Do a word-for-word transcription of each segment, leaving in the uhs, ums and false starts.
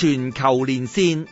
全球連線，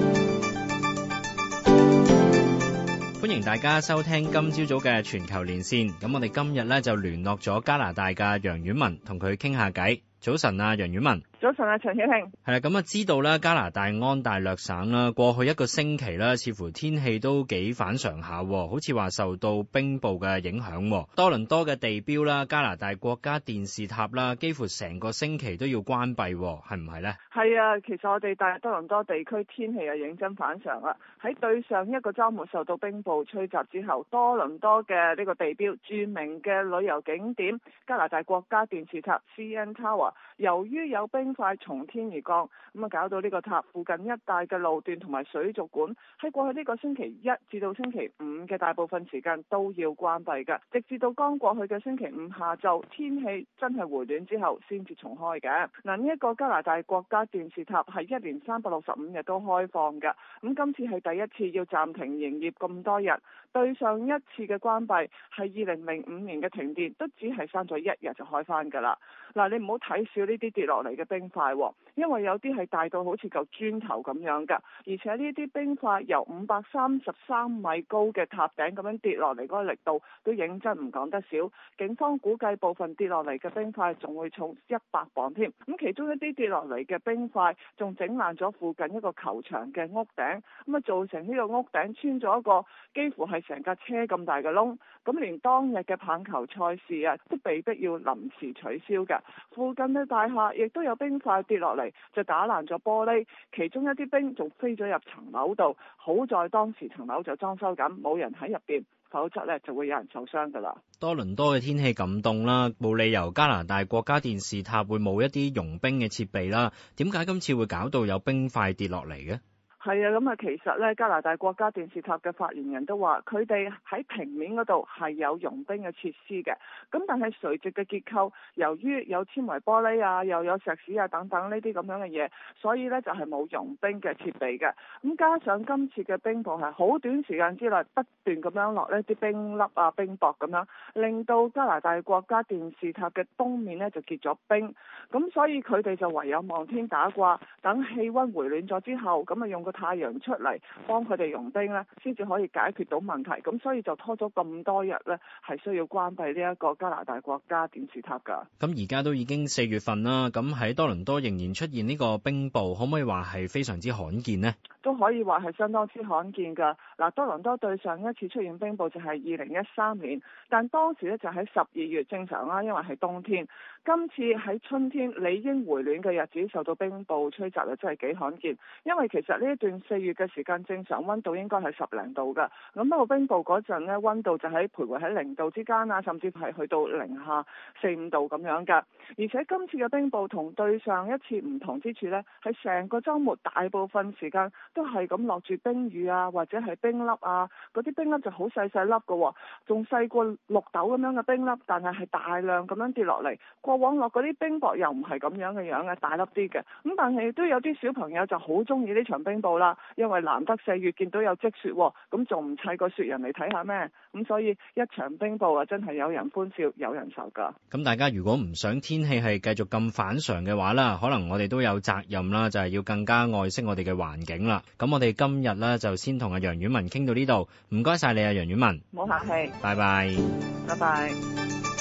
歡迎大家收聽今朝早嘅全球連線。咁我哋今日咧就聯絡咗加拿大嘅楊婉文，同佢傾下偈。早晨啊，楊婉文。 早晨啊，陳曉慶。 係啦，咁啊知道啦，加拿大安大略省啦，過去一個星期啦，似乎天氣都幾反常下，好似話受到冰暴嘅影響。多倫多嘅地標啦，加拿大國家電視塔啦，幾乎成個星期都要關閉，係唔係呢？ 係啊，其實我哋大多倫多地區天氣又認真反常啦。喺對上一個週末受到冰暴吹襲之後，多倫多嘅呢個地標著名嘅旅遊景點加拿大國家電視塔 C N Tower， 由於有冰塊從天而降，咁啊搞到呢個塔附近一帶嘅路段同埋水族館喺過去呢個星期一至到星期五嘅大部分時間都要關閉㗎，直至到剛過去嘅星期五下晝天氣真係回暖之後先至重開嘅。嗱，呢一個加拿大國家電視塔係一年三百六十五日都開放㗎，咁今次係第一次要暫停營業咁多日。對上一次嘅關閉係二零零五年嘅停電，都只係閂咗一日就開返㗎啦。嗱，你唔好睇少呢啲跌落嚟嘅冰塊，因為有啲係大到好似嚿磚頭咁樣㗎，而且呢啲冰塊由五百三十三米高嘅塔頂咁樣跌落嚟嗰個力度都認真唔講得少。警方估計部分跌落嚟嘅冰塊仲會重一百磅添。咁其中一啲跌落嚟嘅冰塊仲整爛咗附近一個球場嘅屋頂，咁啊造成呢個屋頂穿咗一個幾乎係成架車咁大嘅窿，咁連當日嘅棒球賽事啊都被逼要臨時取消㗎。附近嘅大廈亦都有冰塊跌落嚟，就打爛咗玻璃，其中一啲冰仲飛咗入層樓度。好在當時層樓就裝修緊，冇人喺入邊，否則呢就會有人受傷㗎啦。 多倫多嘅天氣咁凍啦，冇理由加拿大國家電視塔會冇一啲融冰嘅設備啦。點解今次會搞到有冰塊跌落嚟嘅？ 係啊，咁啊，其實咧，加拿大國家電視塔嘅發言人都話，佢哋喺平面嗰度係有融冰嘅設施嘅，咁但係垂直嘅結構，由於有纖維玻璃啊，又有石屎啊等等呢啲咁樣嘅嘢，所以咧就係冇融冰嘅設備嘅。咁加上今次嘅冰暴係好短時間之內不斷咁樣落呢啲冰粒啊、冰雹咁樣，令到加拿大國家電視塔嘅東面呢就結咗冰，咁所以佢哋就唯有望天打卦，等氣溫回暖咗之後，咁啊用個太陽出嚟幫佢哋融冰咧，先至可以解決到問題。咁所以就拖咗咁多日咧，係需要關閉呢一個加拿大國家電視塔㗎。 咁而家都已經四月份啦，咁喺多倫多仍然出現呢個冰暴，可唔可以話係非常之罕見呢？ 都可以話係相當之罕見㗎。嗱，多倫多對上一次出現冰暴就係二零一三年，但當時咧就喺十二月，正常啦，因為係冬天。今次喺春天理應回暖嘅日子受到冰暴吹襲，又真係幾罕見。因為其實呢一段四月嘅時間，正常溫度應該係十零度㗎。咁不過冰暴嗰陣呢，溫度就喺徘徊喺零度之間啊，甚至係去到零下四五度咁樣㗎。而且今次嘅冰暴同對上一次唔同之處呢，係成個週末大部分時間都係咁落住冰雨啊，或者係冰粒啊，嗰啲冰粒就好細細粒㗎，仲細過綠豆咁樣嘅冰粒，但係係大量咁樣跌落嚟。過往落嗰啲冰雹又唔係咁樣嘅樣嘅，大粒啲嘅。咁但係都有啲小朋友就好中意呢場冰暴啦，因為難得四月見到有積雪，咁仲唔砌個雪人嚟睇下咩？咁所以一場冰暴啊，真係有人歡笑有人愁㗎。 咁大家如果唔想天氣係繼續咁反常嘅話啦，可能我哋都有責任啦，就係要更加愛惜我哋嘅環境啦。咁我哋今日咧就先同阿楊婉文傾到呢度，唔該晒你啊，楊婉文。 冇客氣。 拜拜。 拜拜。